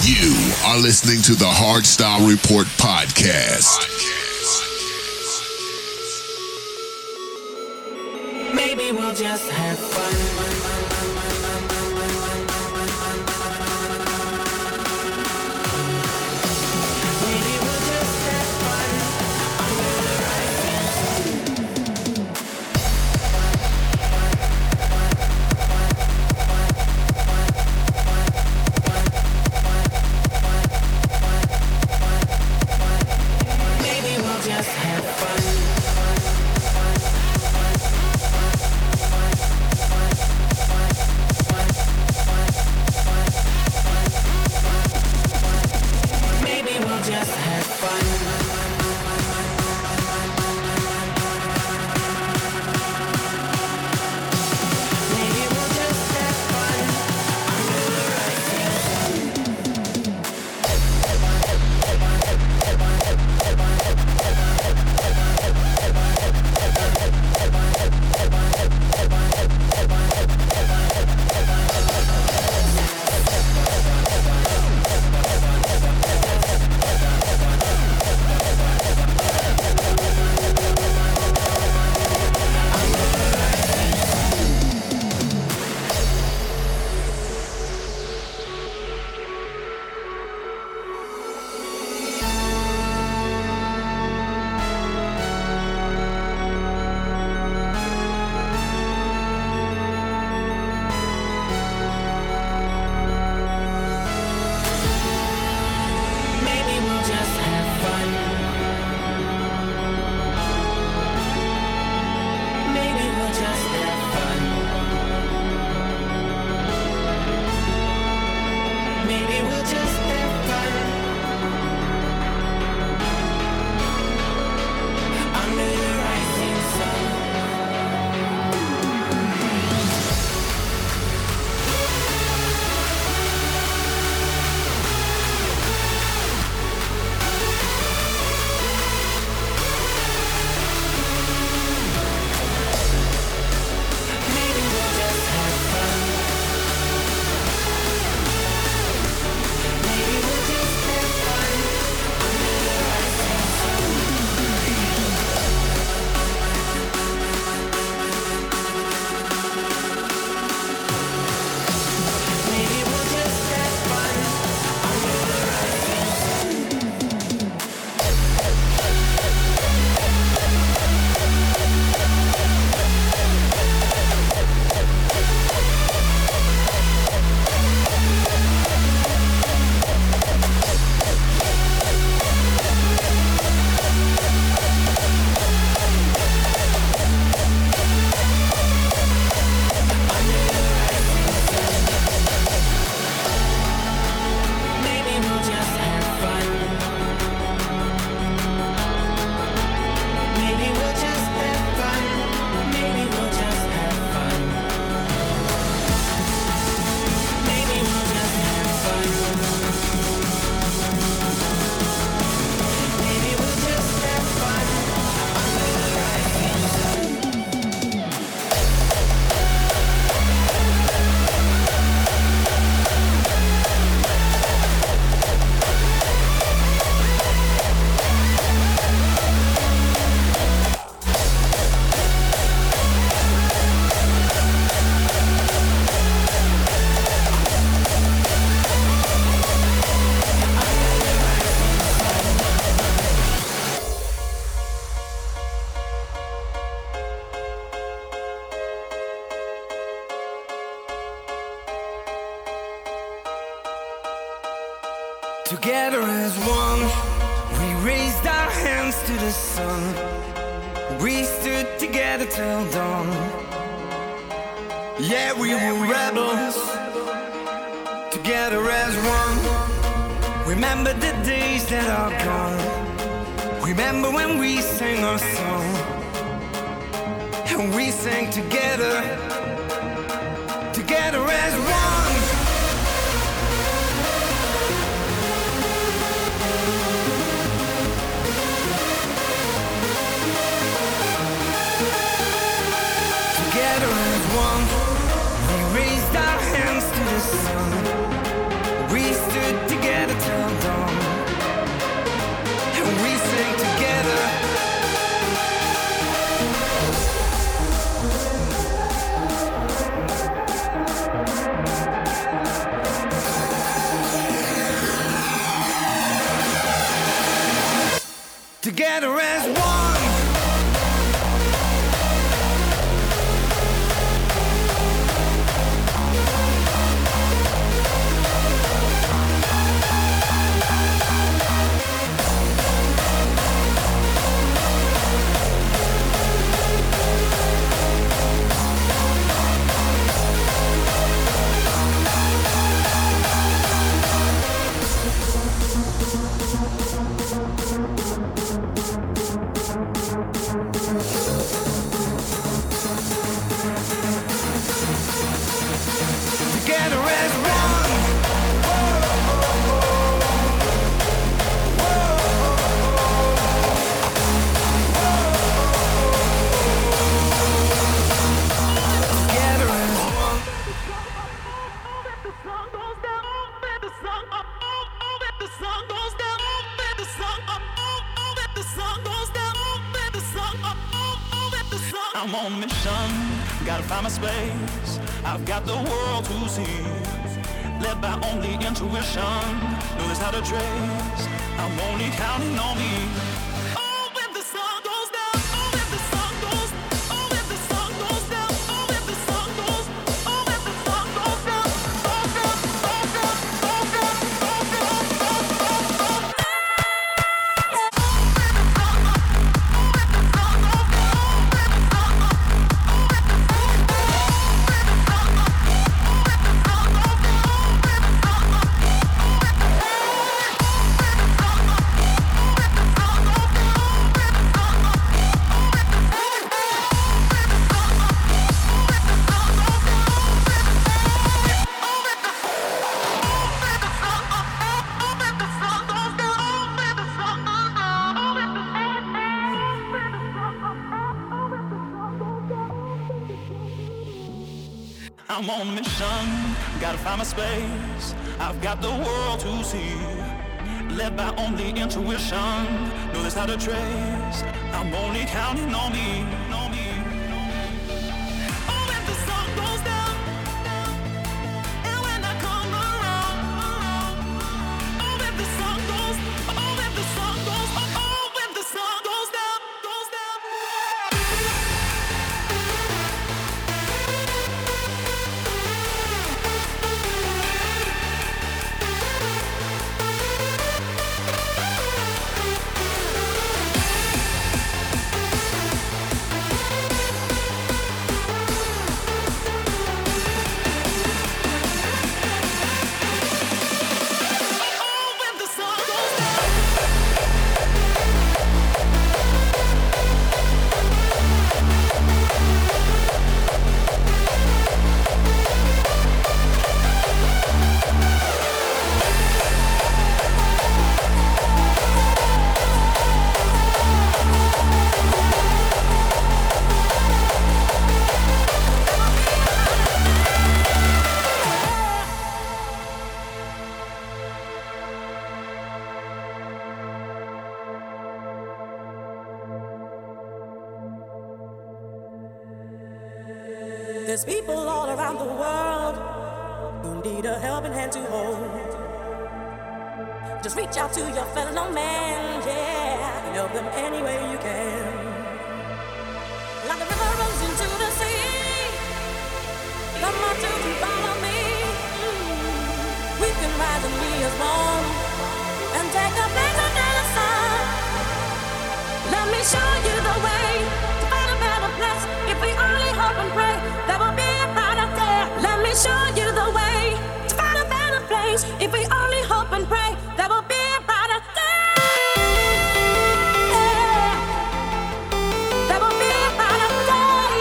You are listening to the Hardstyle Report podcast. Maybe we'll just have fun. Together as one, we raised our hands to the sun. We stood together till dawn. Yeah, we were rebels. Together as one. Remember the days that are gone. Remember when we sang our song. And we sang together. Together as one. Together as one, we raised our hands to the sun. We stood together together as one. Together as one. Together as one. I'm on a mission, gotta find my space. I've got the world to see, led by only intuition. Know there's not a trace, I'm only counting on me. Oh, when the sun goes down, oh, when the sun goes, oh, when the sun goes down, oh, when the sun goes, oh, when the sun goes down, oh, down, oh, down, oh, down, oh, down, oh, down, oh, down. I'm on a mission, gotta find my space. I've got the world to see, led by only intuition. Know there's not a trace, I'm only counting on me, on me. Oh, when the sun goes down, and when I come around. Oh, when the sun goes, oh, when the sun goes, oh, when the sun goes down, goes down. There's people all around the world who need a helping hand to hold. Just reach out to your fellow man, yeah, and help them any way you can. Like the river runs into the sea, come on to follow me. We can rise and be as one, and take a place under the sun. Let me show you the way to find a better place. If we only hope and pray, there will be a brighter day. Let me show you the way to find a better place. If we only hope and pray, there will be a brighter day. There will be a brighter day.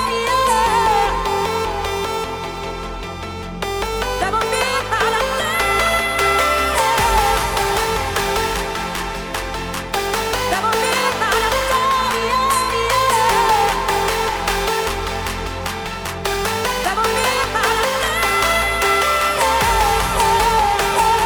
There will be a brighter day. There will be a brighter day.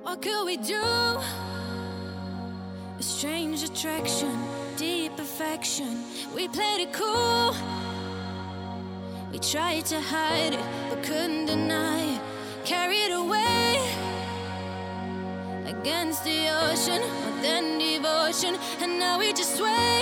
What could we do? A strange attraction, deep affection. We played it cool. We tried to hide it, but couldn't deny it. Carried away against the ocean, more than devotion. And now we just sway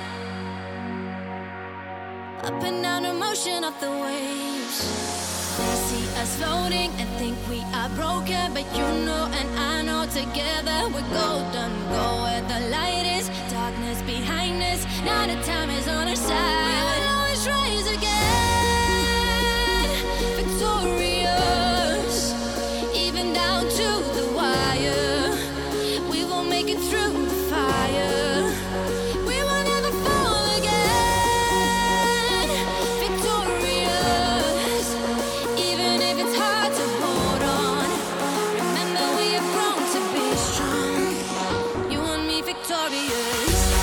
up and down the motion of the waves. They see us floating and think we are broken, but you know and I know together we're golden. Go where the light is, darkness behind us. Now the time is on our side. We will always rise again, victorious, even down to the wire. We will make it through the fire. We will never fall again, victorious, even if it's hard to hold on. Remember we have grown to be strong. You and me victorious.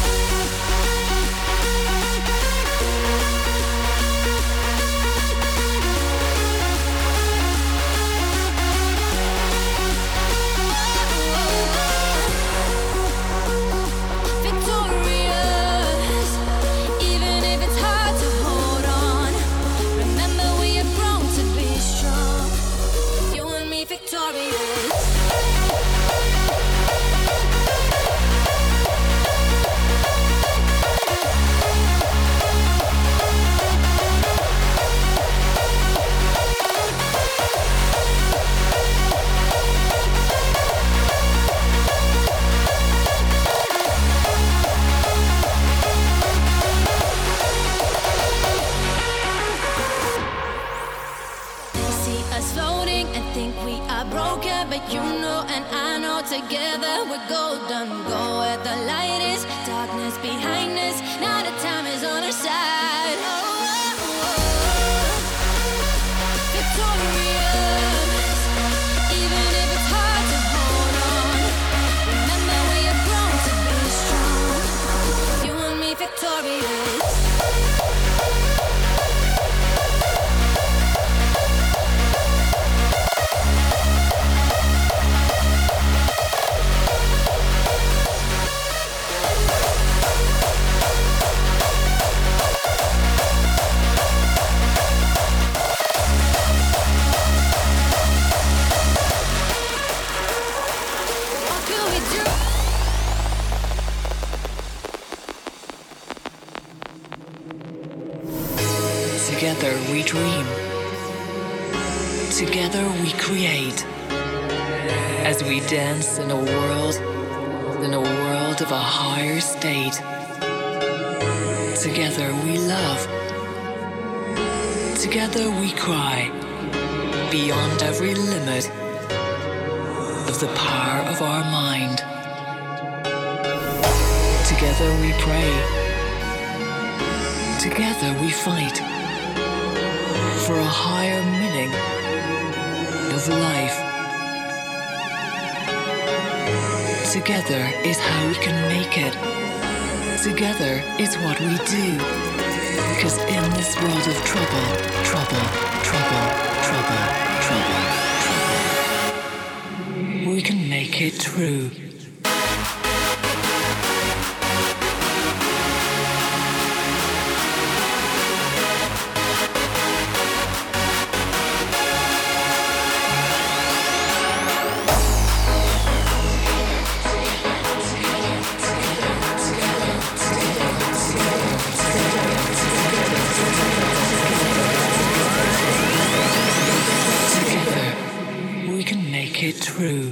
Victorious, even if it's hard to hold on. Remember we have grown to be strong. You and me victorious. They see us floating and think we are broken, but you know and I know together we're golden. Go where the light is, darkness behind us. Now the time is on our side. Oh, oh, oh. Victorious, even if it's hard to hold on. Remember we have grown to be strong. You and me victorious. What could we do? Together we dream. Together we create. As we dance in a world of a higher state. Together we love. Together we cry. Beyond every limit of the power of our mind. Together we pray. Together we fight for a higher meaning of life. Together is how we can make it. Together is what we do. 'Cause in this world of trouble, trouble, trouble, trouble, trouble, trouble, we can make it true. Together, we can make it true.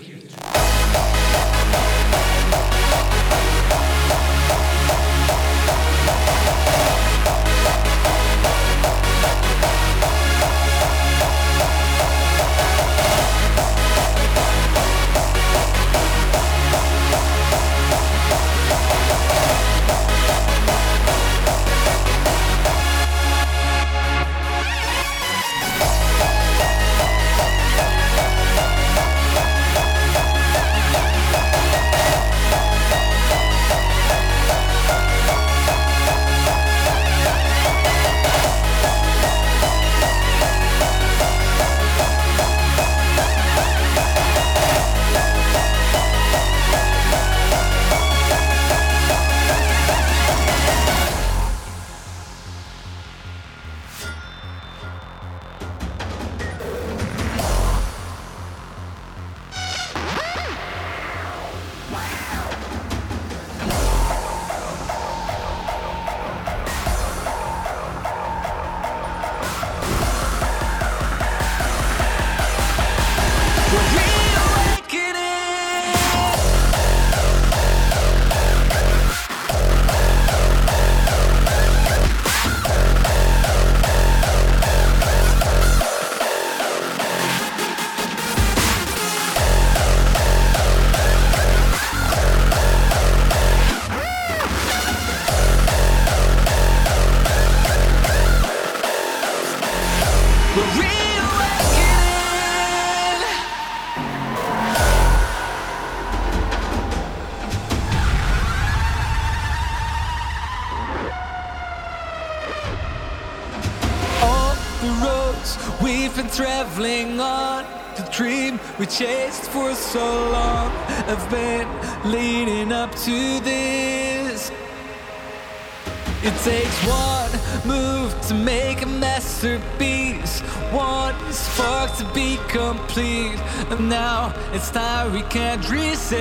traveling on the dream we chased for so long. I've been leading up to this. It takes one move to make a masterpiece, one spark to be complete, and now it's time we can't resist.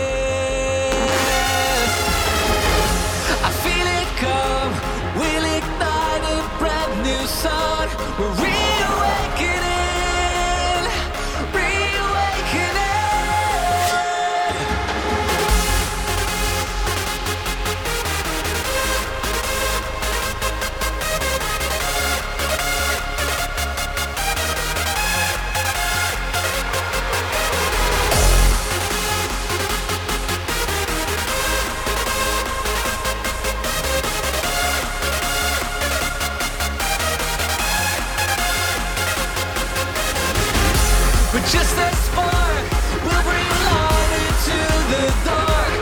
I feel it come, we'll ignite a brand new sun. We're reawakening. Just a spark will bring light into the dark.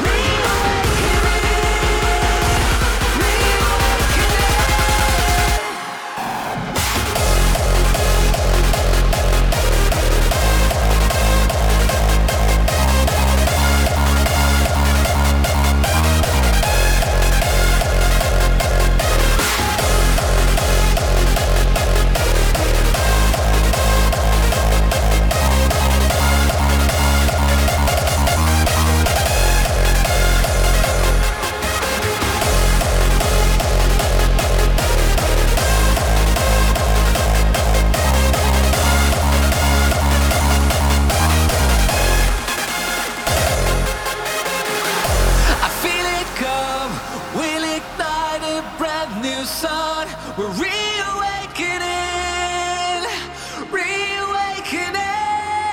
We're reawakening, reawakening.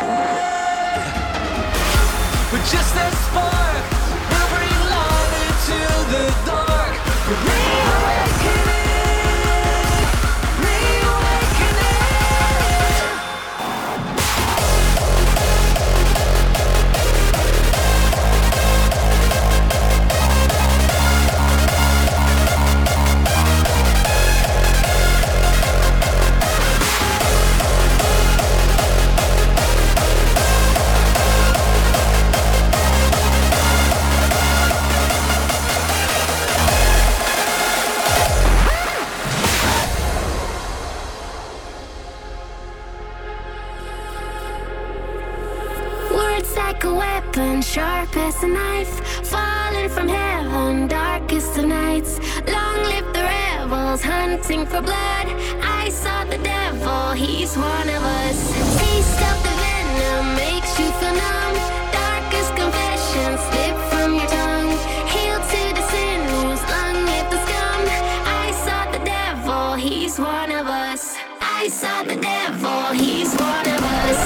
We're just a spark, we'll bring light into the dark. We're reawakening, reawakening. Like a weapon, sharp as a knife, falling from heaven, darkest of nights. Long live the rebels, hunting for blood. I saw the devil, he's one of us. Taste of the venom makes you feel numb. Darkest confessions slip from your tongue. Hail to the sinners, long live the scum. I saw the devil, he's one of us. I saw the devil, he's one of us.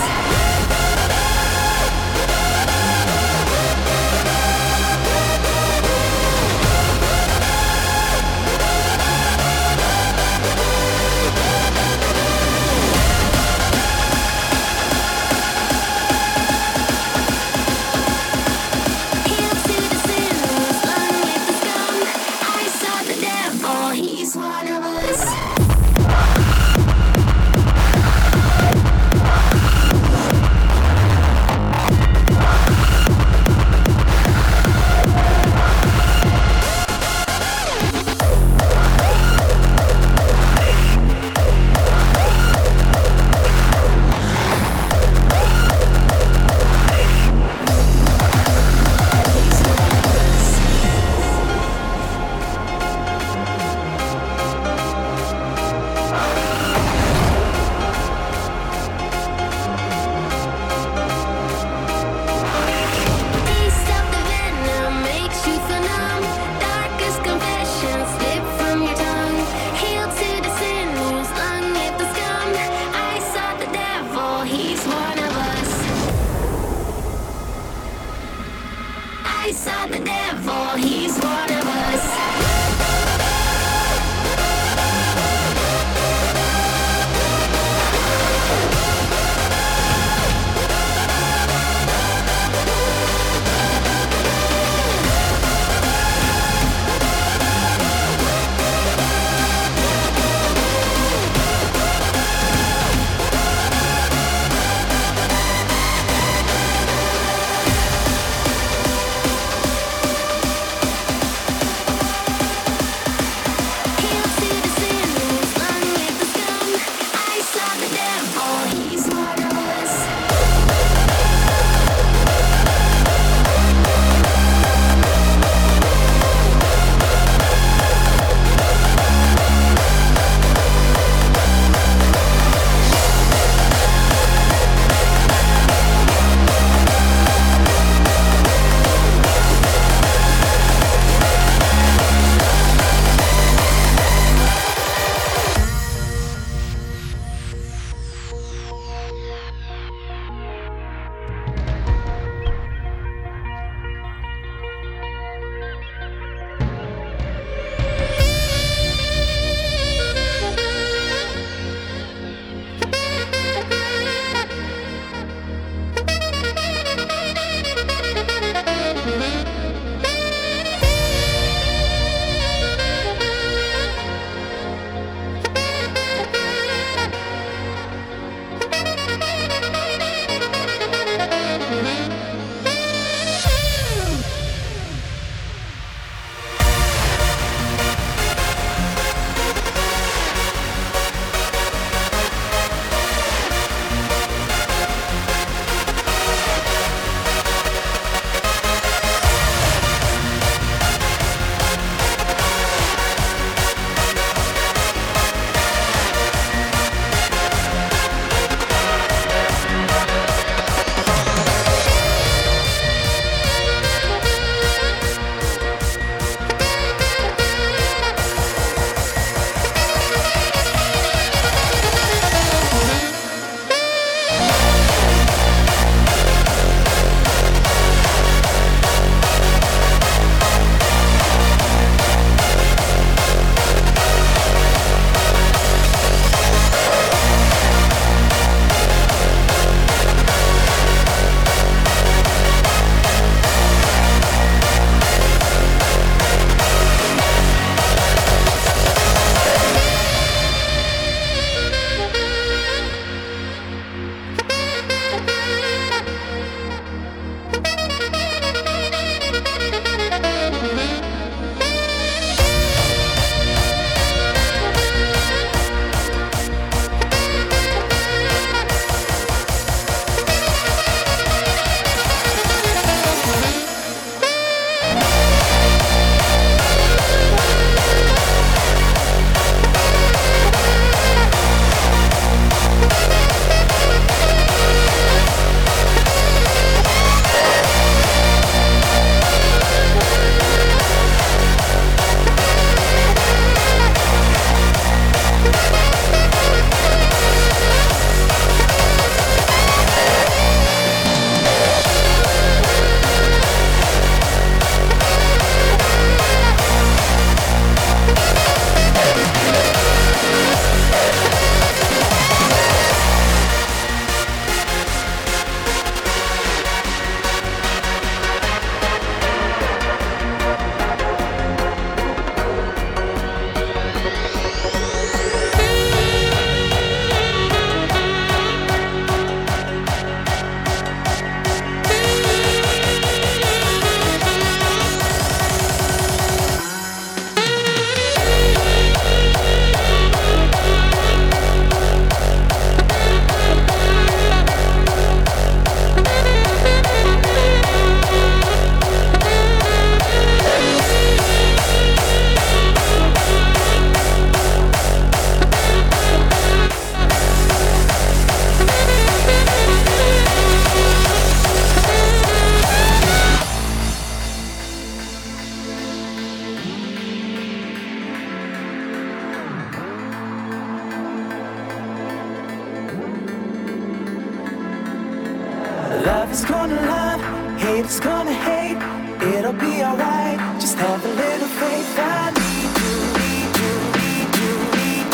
Love is gonna love, hate is gonna hate. It'll be alright, just have a little faith. I need you, need you, need you, need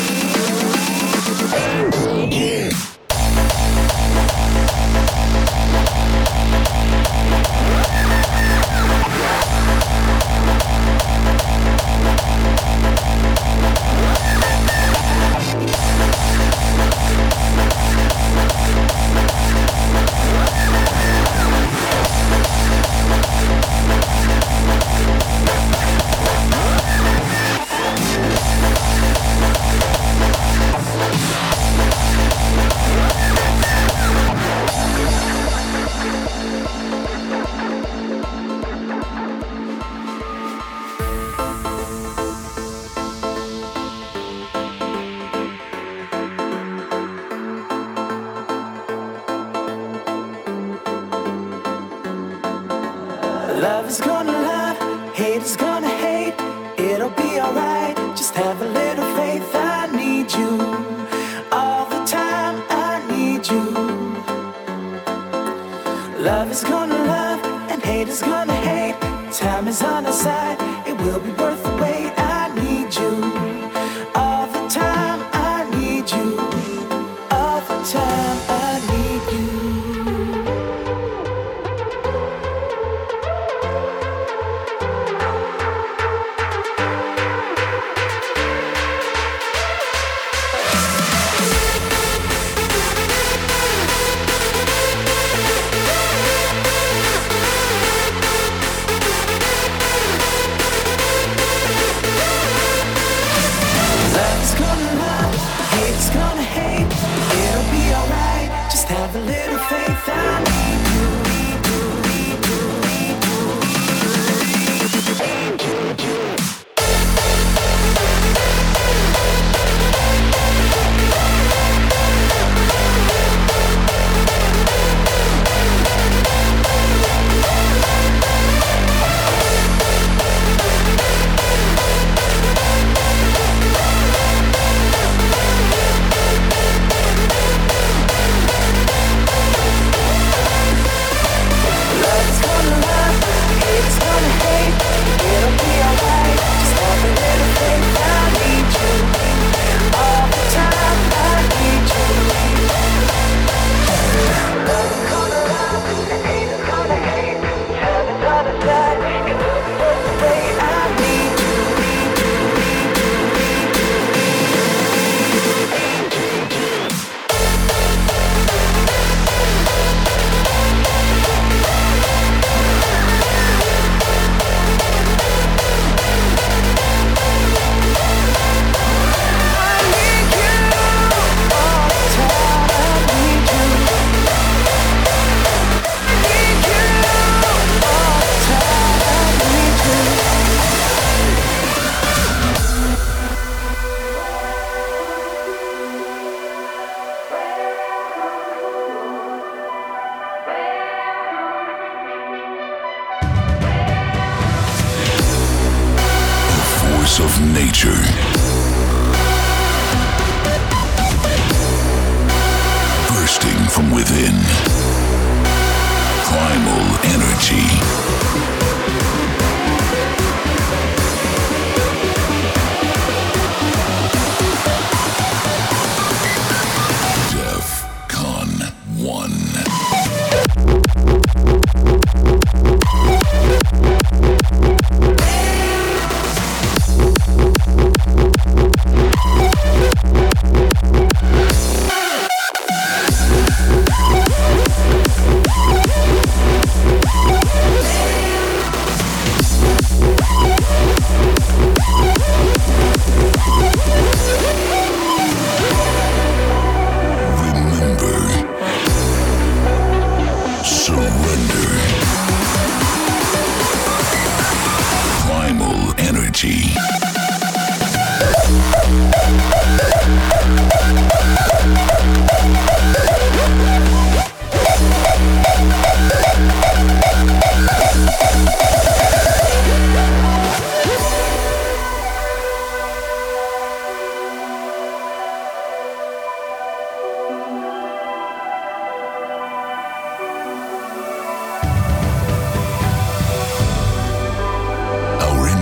you, need you. Love is gonna love, hate is gonna hate. It'll be alright, just have a little faith. I need you all the time, I need you. Love is gonna love, and hate is gonna hate. Time is on our side, it will be worth the wait. I need you all the time, I need you. All the time, I need you. Have a little faith, I need you, need you, need you, need you, need you, need you. Of nature. Bursting from within. Primal energy. DEFCON 1.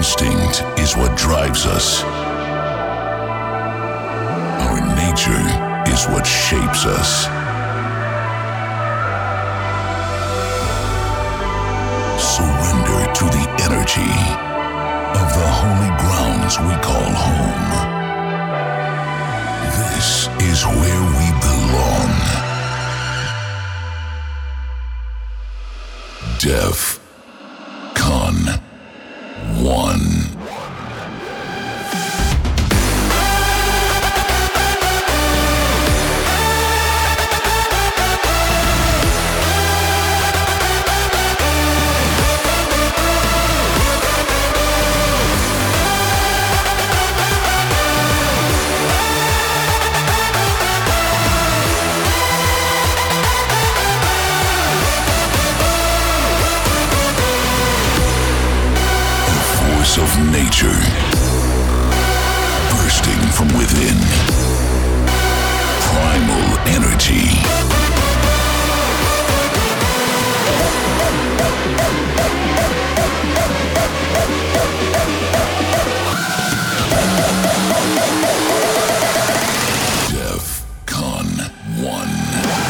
instinct is what drives us. Our nature is what shapes us. Surrender to the energy of the holy grounds we call home. This is where we belong. DEF CON 1. Of nature, bursting from within, primal energy. DEF CON 1.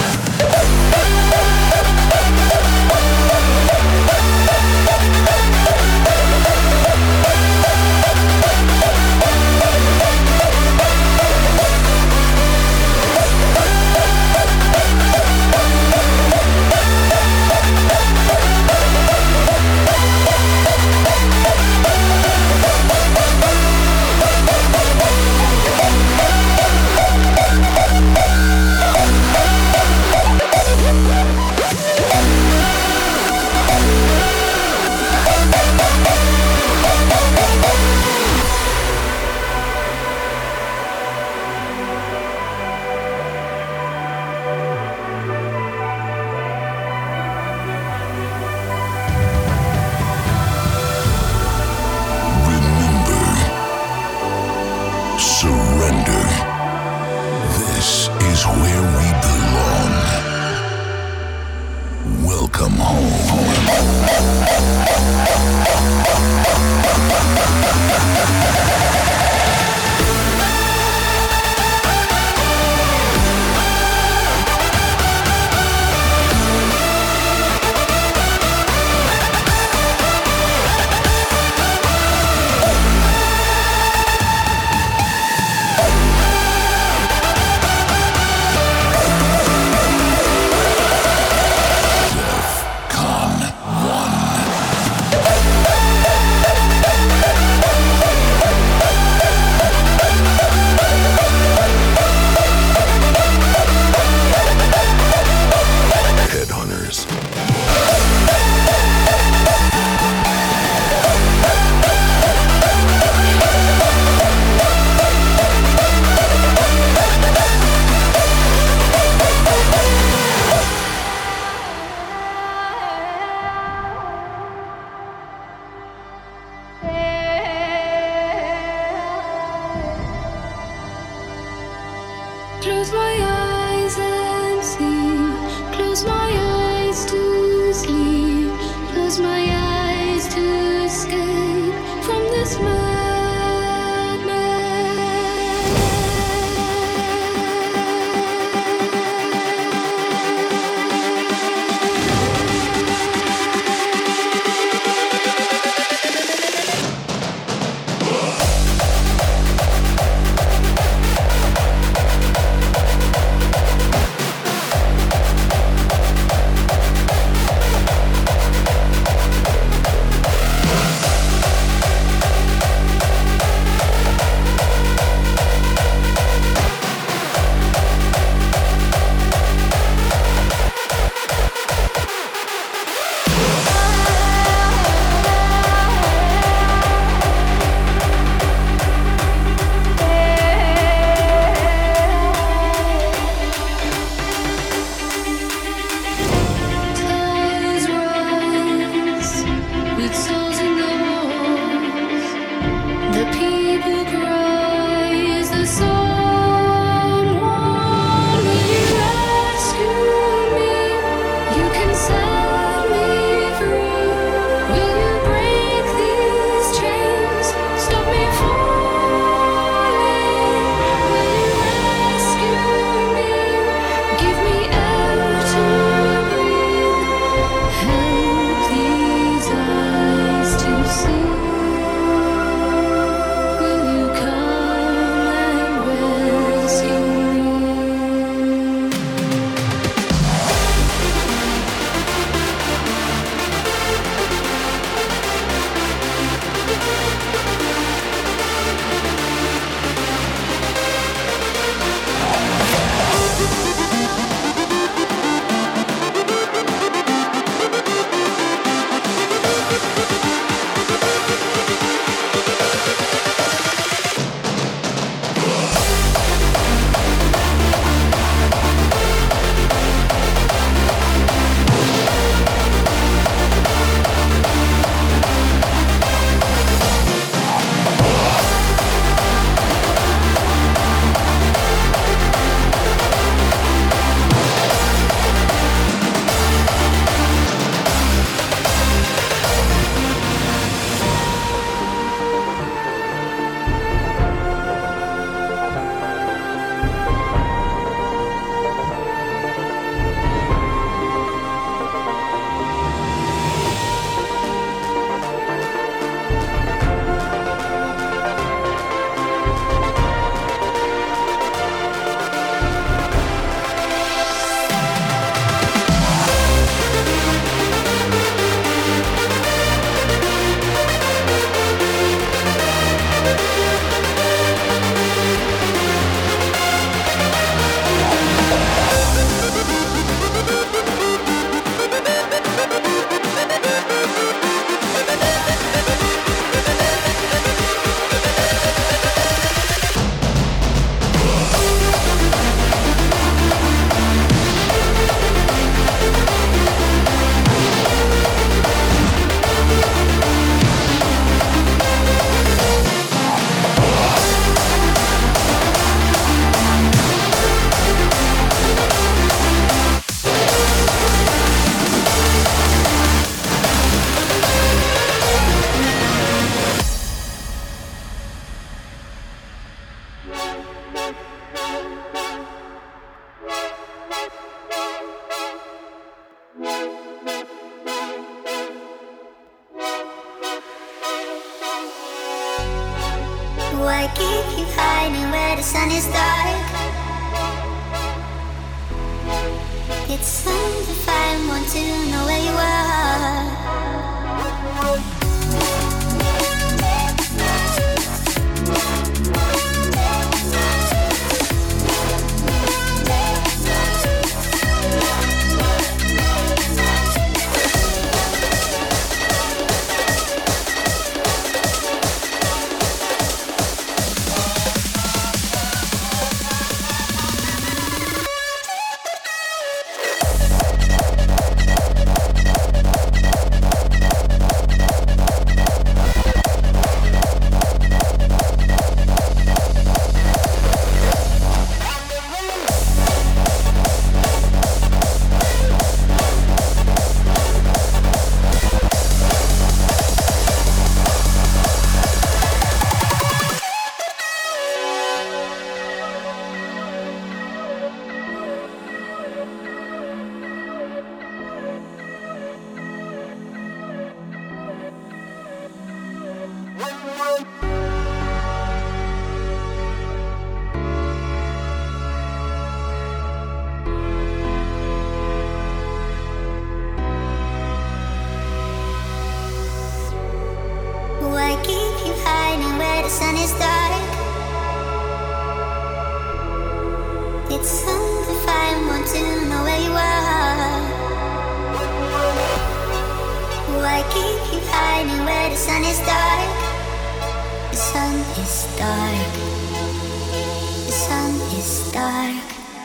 Surrender. This is where we belong. Welcome home. Why keep you hiding where the sun is dark? It's undefined, want to know where you are. Why keep you hiding where the sun is dark? It's undefined, want to know where you are. Why keep you hiding where the sun is dark? The sun is dark. The sun is dark.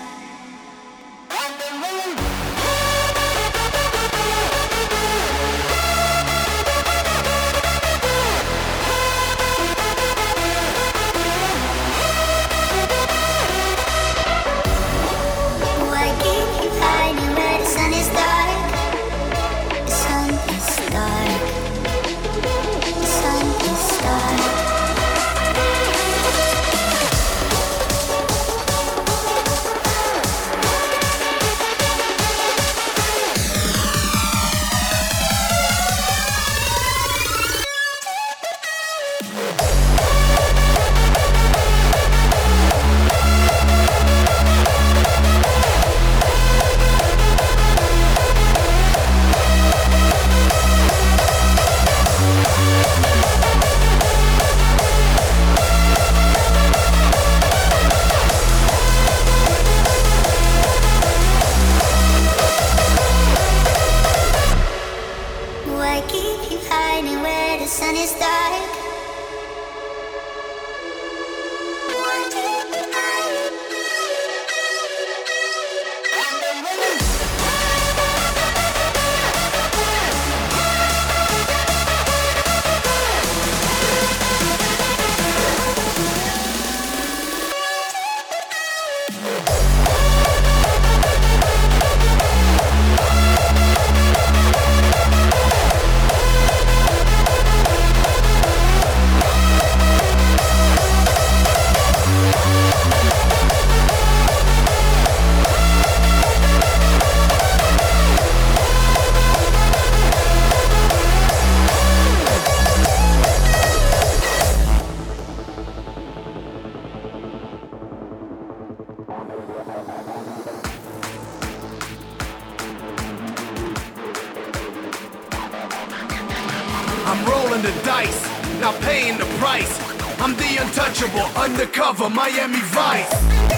Undercover Miami Vice.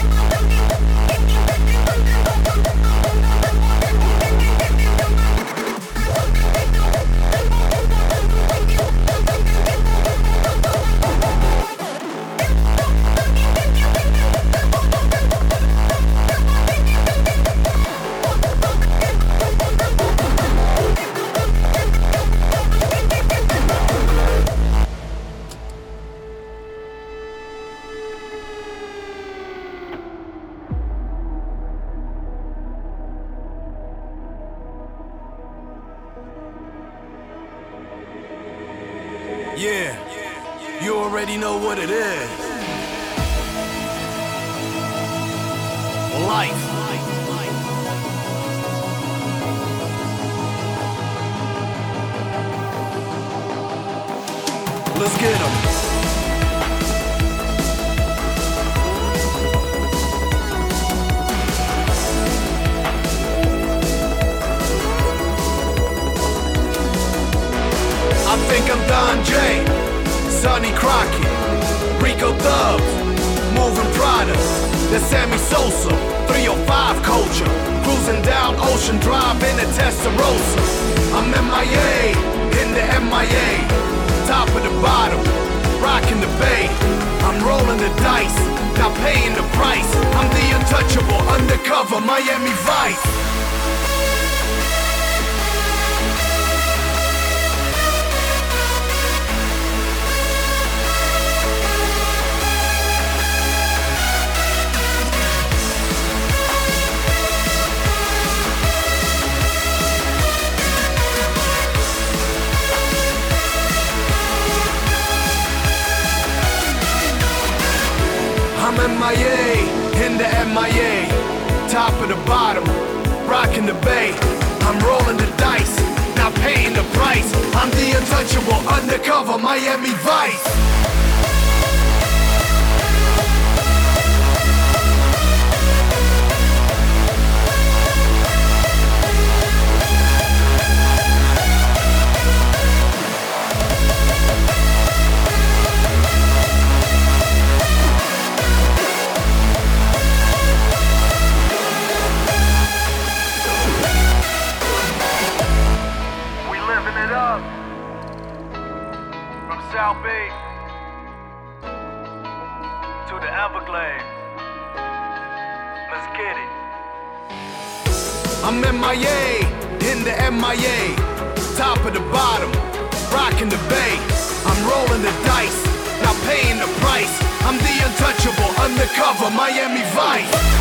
Yeah, you already know what it is. Life. Let's get 'em. Sonny Crockett, Rico Dubs, moving products. The Sammy Sosa, 305 culture, cruising down Ocean Drive in a Testarossa. I'm MIA, in the MIA, top of the bottom, rocking the bay. I'm rolling the dice, not paying the price. I'm the untouchable, undercover Miami Vice. I'm MIA, in the MIA, top of the bottom, rocking the bay. I'm rolling the dice, not paying the price. I'm the untouchable, undercover Miami Vice. South Bay to the Everglades. Let's get it. I'm MIA, in the MIA, top of the bottom, rocking the bay. I'm rolling the dice, not paying the price. I'm the untouchable, undercover Miami Vice.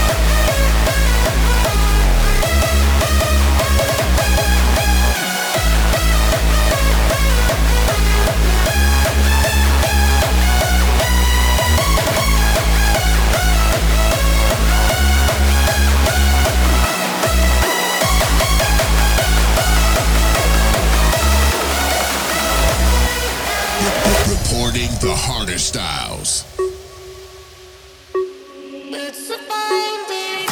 Reporting the harder styles. It's a fine day.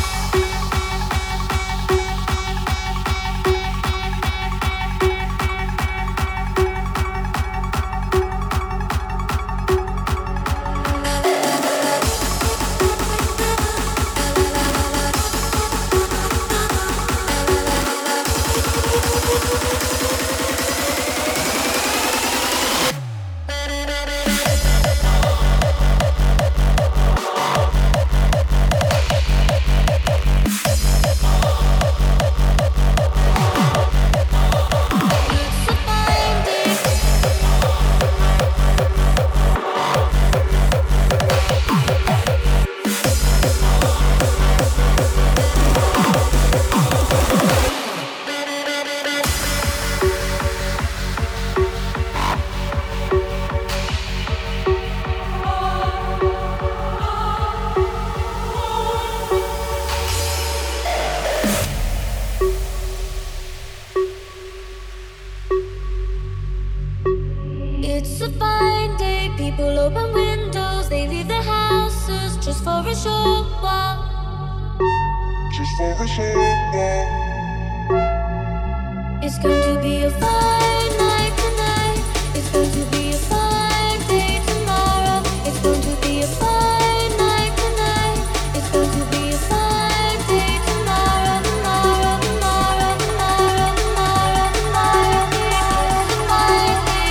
It's a fine day, people open windows, they leave their houses just for a short while. Just for a short while. It's going to be a fine night tonight. It's going to be a fine day tomorrow. It's going to be a fine night tonight. It's going to be a fine day tomorrow, tomorrow, tomorrow, tomorrow, tomorrow, tomorrow. It's a fine day.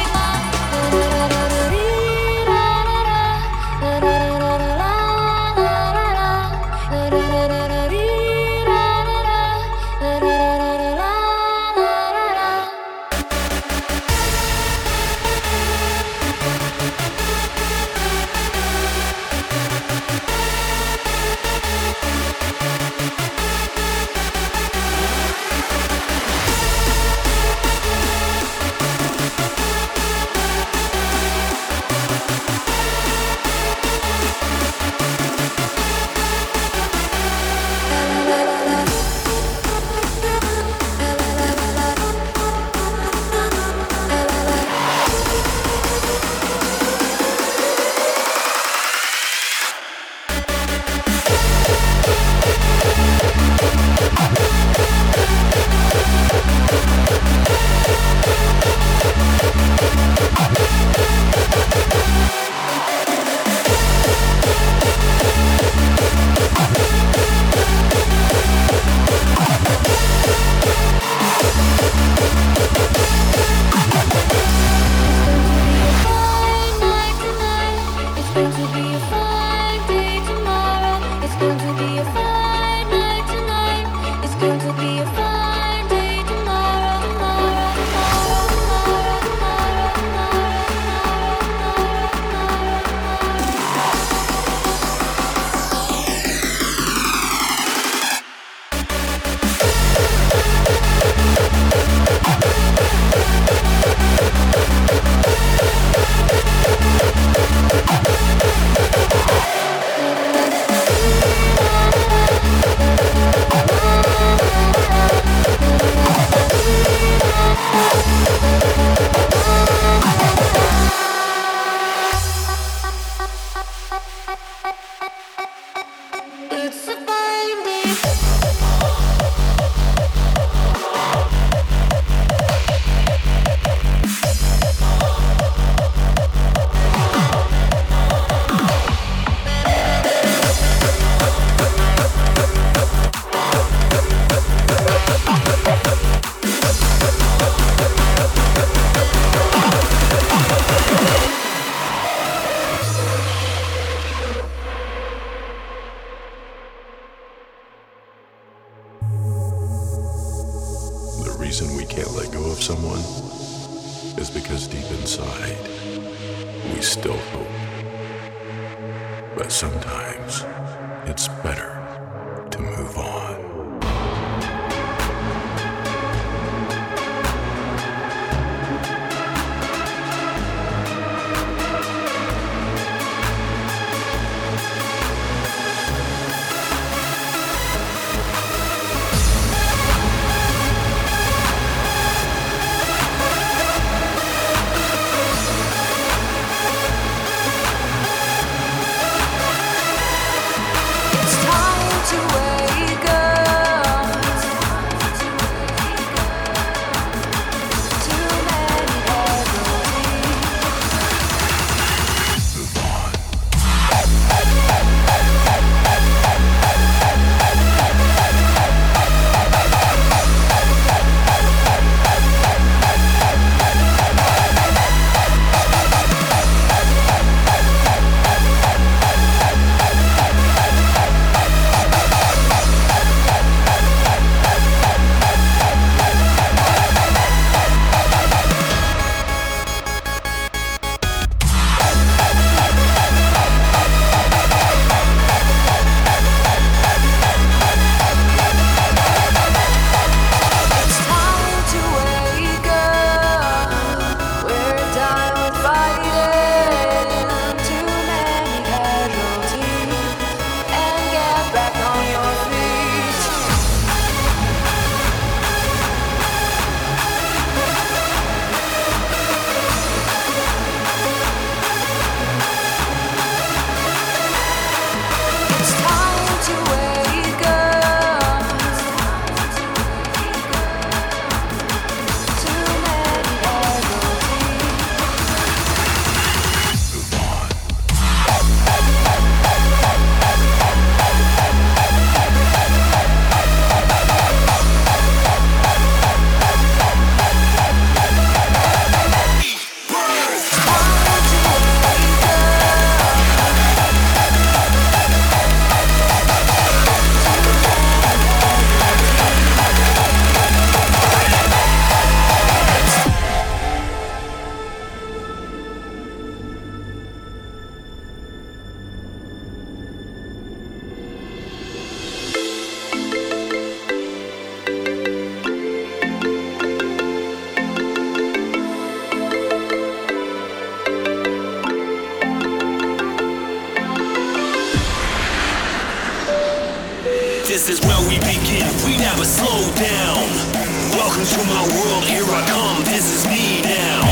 reason we can't let go of someone is because deep inside, we still hope. But sometimes, it's better to move on. This is where we begin, we never slow down. Welcome to my world, here I come, this is me now.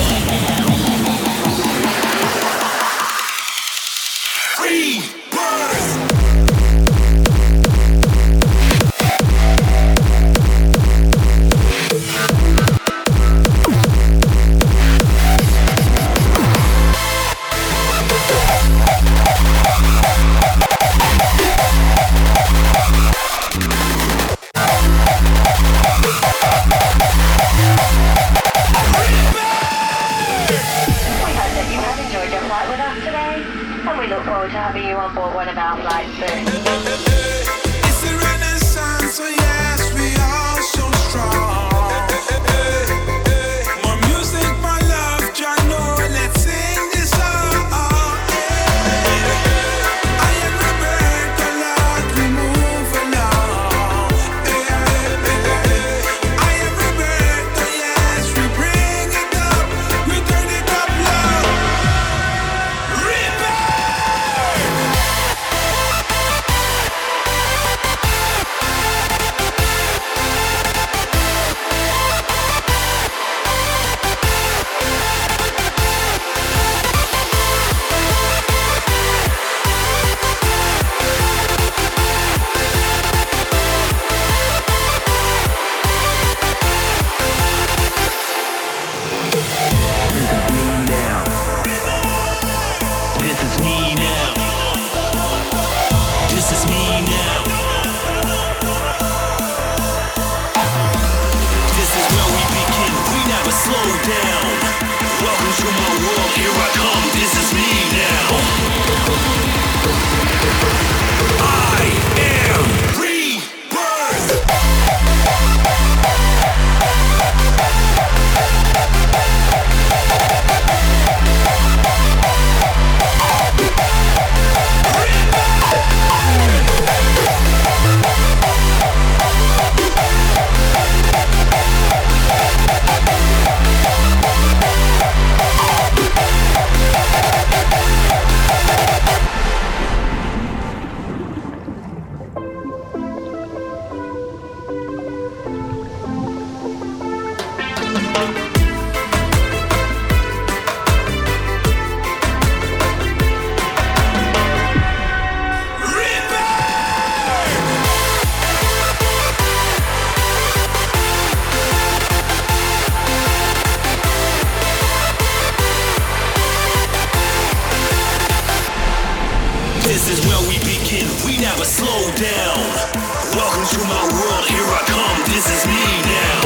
never slow down. Welcome to my world, here I come, this is me now.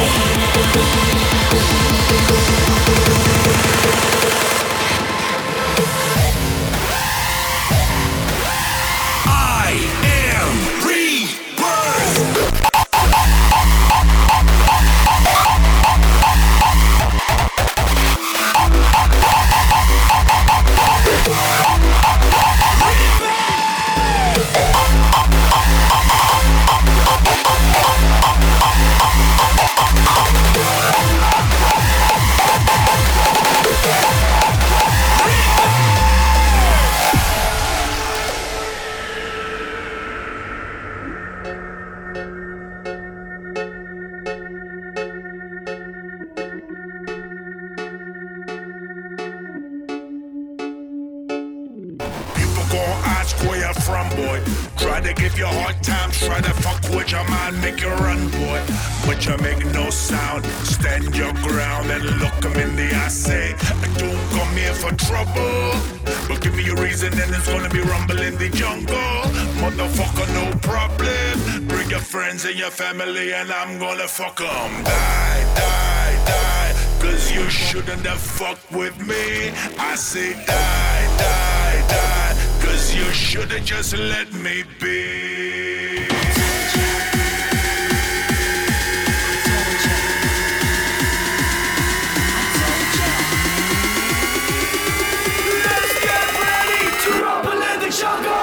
I am rebirth. From boy, try to give you hard times, try to fuck with your mind, make you run, boy. But you make no sound, stand your ground and look them in the eye. Say, I don't come here for trouble, but give me a reason, and it's gonna be rumble in the jungle. Motherfucker, no problem. Bring your friends and your family, and I'm gonna fuck them. Die, die, die, cause you shouldn't have fucked with me. I say, die, die, die, cause you should've just let me be. Let's get ready to rumble in the jungle.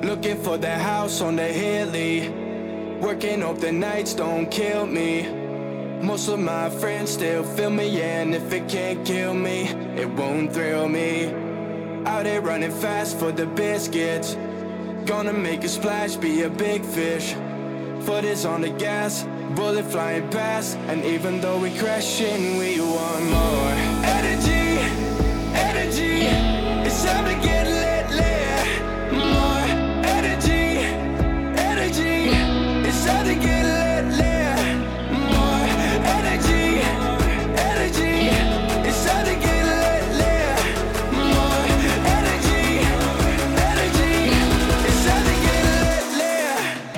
Looking for that house on the hilly. Working, hope the nights don't kill me. Most of my friends still feel me, yeah, and if it can't kill me, it won't thrill me. Out here running fast for the biscuits. Gonna make a splash, be a big fish. Foot is on the gas, bullet flying past. And even though we crashing, we want more. Energy, energy, it's time to get lit, lit. More energy, energy, it's time to get lit, lit. More energy, energy, it's time to get lit, lit. More energy, energy, it's time to get lit, lit.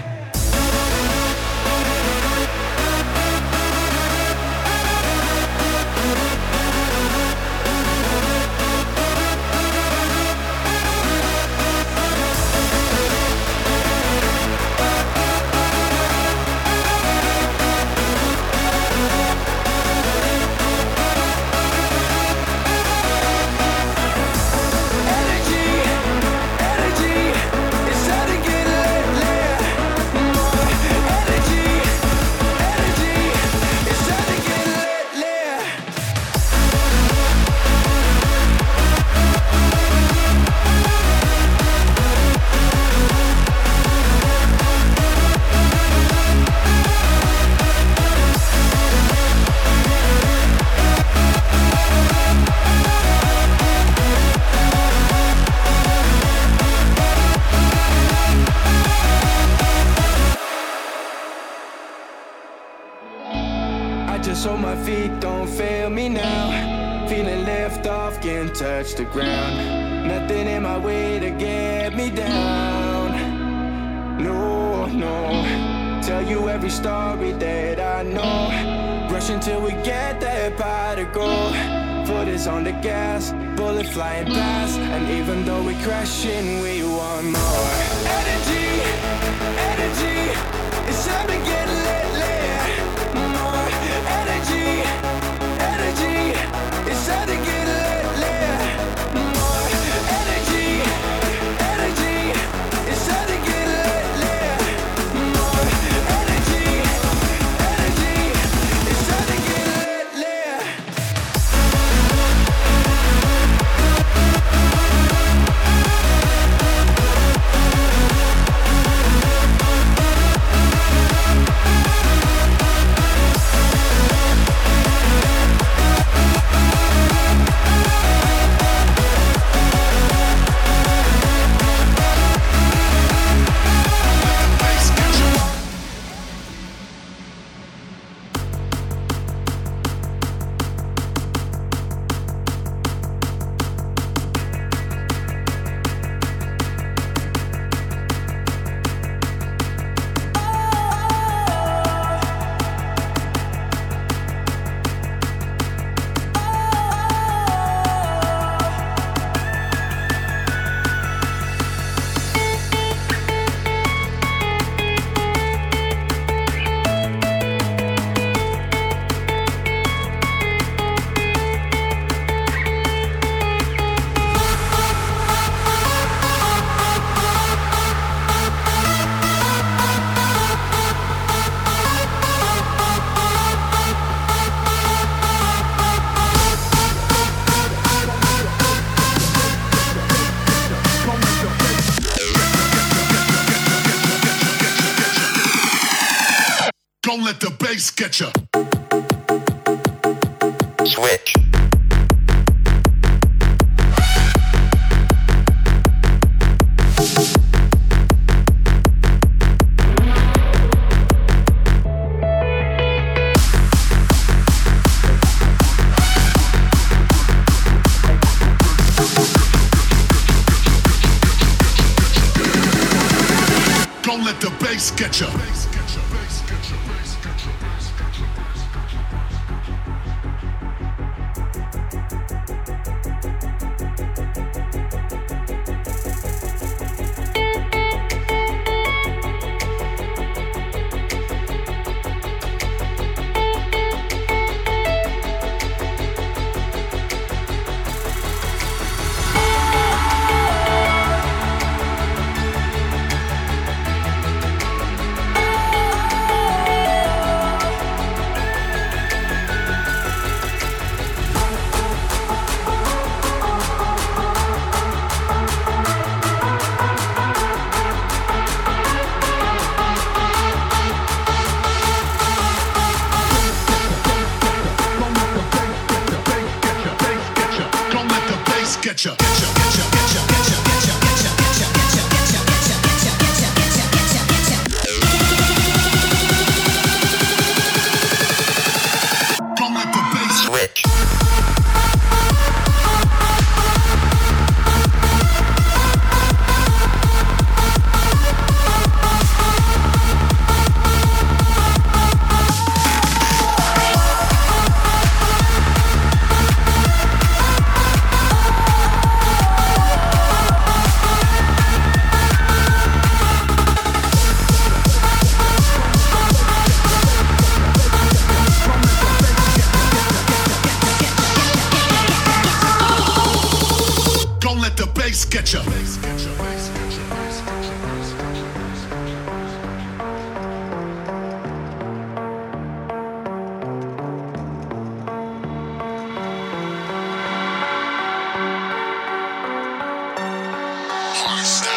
So my feet don't fail me now. Feeling lift off, can't touch the ground. Nothing in my way to get me down. No, no. Tell you every story that I know. Rush until we get that pot of gold. Foot is on the gas, bullet flying past. And even though we crashing, we want more. Energy, energy, it's time to get lit, lit. More energy, energy, it's time to get lit, lit. More energy, energy, it's time to get lit, lit. More energy, energy, it's time to get lit, lit. Don't let the bass get ya. Switch. Don't let the bass get ya. Sketcher. Hardstyle.